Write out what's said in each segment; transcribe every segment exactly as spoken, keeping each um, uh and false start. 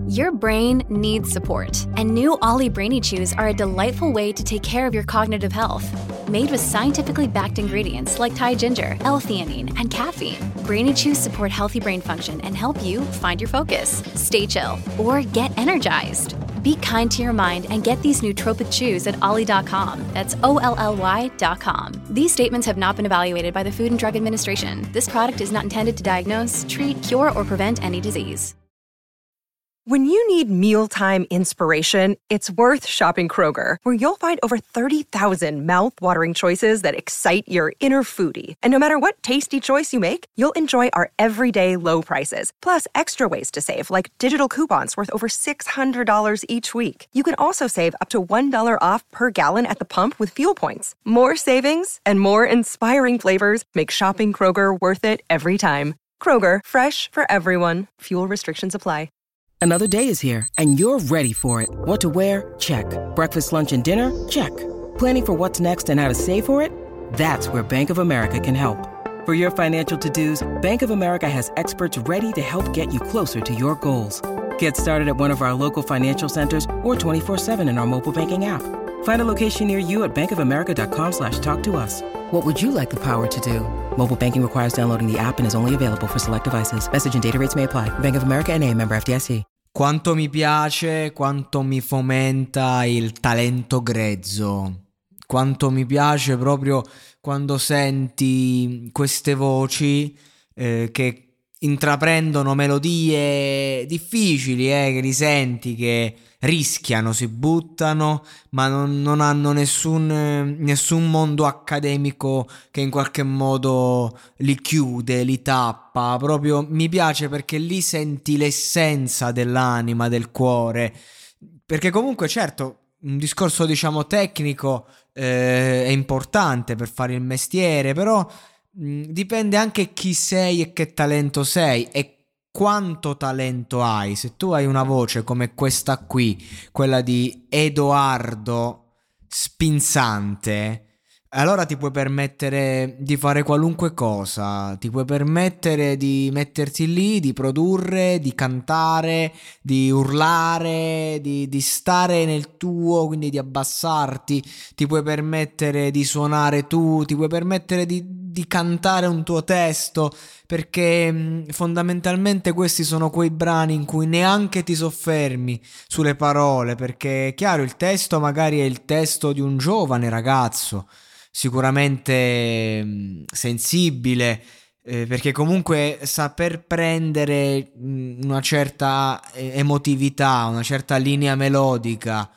Your brain needs support, and new Ollie Brainy Chews are a delightful way to take care of your cognitive health. Made with scientifically backed ingredients like Thai ginger, L-theanine, and caffeine, Brainy Chews support healthy brain function and help you find your focus, stay chill, or get energized. Be kind to your mind and get these nootropic chews at ollie dot com. That's O L L Y dot com. These statements have not been evaluated by the Food and Drug Administration. This product is not intended to diagnose, treat, cure, or prevent any disease. When you need mealtime inspiration, it's worth shopping Kroger, where you'll find over thirty thousand mouth-watering choices that excite your inner foodie. And no matter what tasty choice you make, you'll enjoy our everyday low prices, plus extra ways to save, like digital coupons worth over six hundred dollars each week. You can also save up to one dollar off per gallon at the pump with fuel points. More savings and more inspiring flavors make shopping Kroger worth it every time. Kroger, fresh for everyone. Fuel restrictions apply. Another day is here, and you're ready for it. What to wear? Check. Breakfast, lunch, and dinner? Check. Planning for what's next and how to save for it? That's where Bank of America can help. For your financial to-dos, Bank of America has experts ready to help get you closer to your goals. Get started at one of our local financial centers or twenty-four seven in our mobile banking app. Find a location near you at bankofamerica.com slash talk to us. What would you like the power to do? Mobile banking requires downloading the app and is only available for select devices. Message and data rates may apply. Bank of America N A, member F D I C. Quanto mi piace, quanto mi fomenta il talento grezzo. Quanto mi piace proprio quando senti queste voci eh, che intraprendono melodie difficili, eh, che li senti, che rischiano, si buttano, ma non, non hanno nessun, eh, nessun mondo accademico che in qualche modo li chiude, li tappa. Proprio mi piace perché lì senti l'essenza dell'anima, del cuore, perché comunque certo un discorso diciamo tecnico eh, è importante per fare il mestiere, però mh, dipende anche chi sei e che talento sei e quanto talento hai. Se tu hai una voce come questa qui, quella di Edoardo Spinzante, allora ti puoi permettere di fare qualunque cosa, ti puoi permettere di metterti lì, di produrre, di cantare, di urlare, di, di stare nel tuo, quindi di abbassarti, ti puoi permettere di suonare tu, ti puoi permettere di, di cantare un tuo testo, perché mh, fondamentalmente questi sono quei brani in cui neanche ti soffermi sulle parole, perché chiaro il testo magari è il testo di un giovane ragazzo, sicuramente mh, sensibile, eh, perché comunque saper prendere mh, una certa emotività, una certa linea melodica,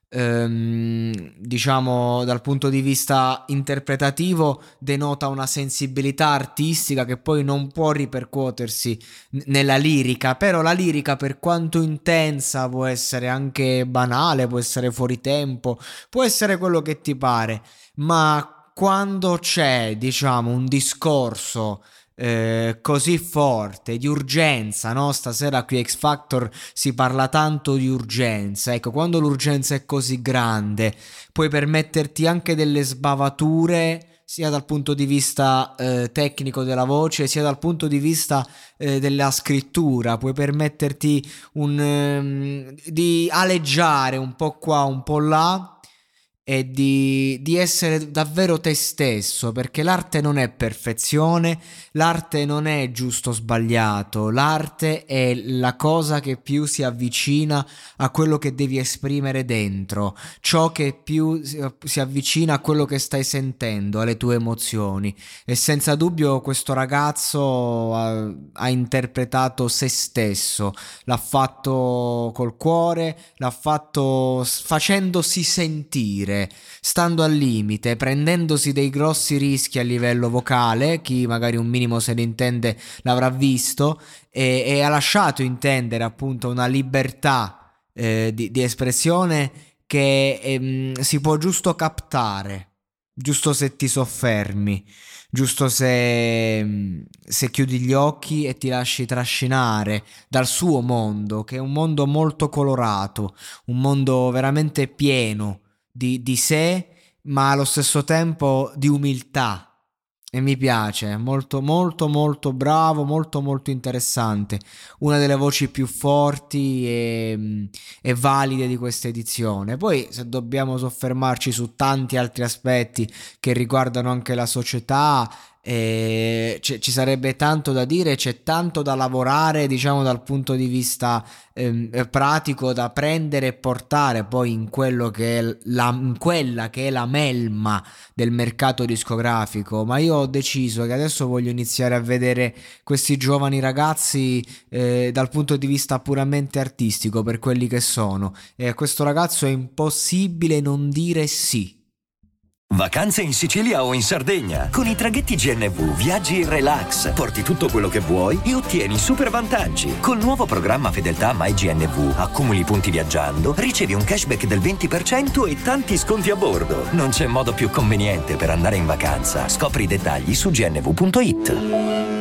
ehm, diciamo dal punto di vista interpretativo denota una sensibilità artistica che poi non può ripercuotersi n- nella lirica, però la lirica per quanto intensa può essere anche banale, può essere fuori tempo, può essere quello che ti pare, ma quando c'è diciamo un discorso eh, così forte di urgenza, no? Stasera qui a X Factor si parla tanto di urgenza, ecco, quando l'urgenza è così grande puoi permetterti anche delle sbavature sia dal punto di vista eh, tecnico della voce sia dal punto di vista eh, della scrittura, puoi permetterti un, ehm, di aleggiare un po' qua un po' là e di, di essere davvero te stesso, perché l'arte non è perfezione, l'arte non è giusto o sbagliato, l'arte è la cosa che più si avvicina a quello che devi esprimere dentro, ciò che più si, si avvicina a quello che stai sentendo, alle tue emozioni, e senza dubbio questo ragazzo ha, ha interpretato se stesso, l'ha fatto col cuore, l'ha fatto facendosi sentire, stando al limite, prendendosi dei grossi rischi a livello vocale, chi magari un minimo se ne intende l'avrà visto, e, e ha lasciato intendere appunto una libertà eh, di, di espressione che ehm, si può giusto captare, giusto se ti soffermi, giusto se, se chiudi gli occhi e ti lasci trascinare dal suo mondo, che è un mondo molto colorato, un mondo veramente pieno Di, di sé, ma allo stesso tempo di umiltà, E mi piace, molto molto molto bravo, molto molto interessante, una delle voci più forti e, e valide di questa edizione. Poi se dobbiamo soffermarci su tanti altri aspetti che riguardano anche la società, eh, c- ci sarebbe tanto da dire, c'è tanto da lavorare, diciamo dal punto di vista ehm, pratico, da prendere e portare poi in quello che è la, in quella che è la melma del mercato discografico. Ma io ho deciso che adesso voglio iniziare a vedere questi giovani ragazzi eh, dal punto di vista puramente artistico, per quelli che sono, e a questo ragazzo è impossibile non dire sì. Vacanze in Sicilia o in Sardegna. Con i traghetti G N V viaggi in relax, porti tutto quello che vuoi e ottieni super vantaggi. Col nuovo programma Fedeltà MyGNV accumuli punti viaggiando, ricevi un cashback del venti per cento e tanti sconti a bordo. Non c'è modo più conveniente per andare in vacanza. Scopri i dettagli su gnv punto it.